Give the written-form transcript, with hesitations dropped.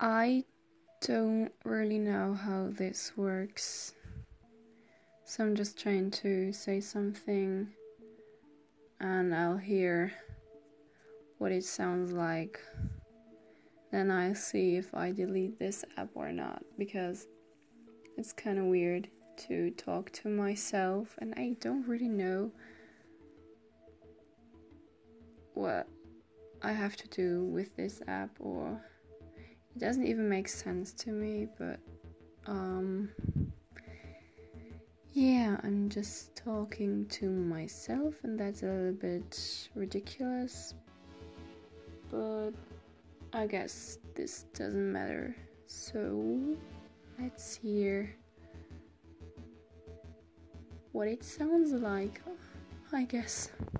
I don't really know how this works, so I'm just trying to say something and I'll hear what it sounds like. Then I'll see if I delete this app or not, because it's kind of weird to talk to myself and I don't really know what I have to do with this app, or it doesn't even make sense to me, but yeah, I'm just talking to myself and that's a little bit ridiculous, but I guess this doesn't matter. So let's hear what it sounds like, I guess.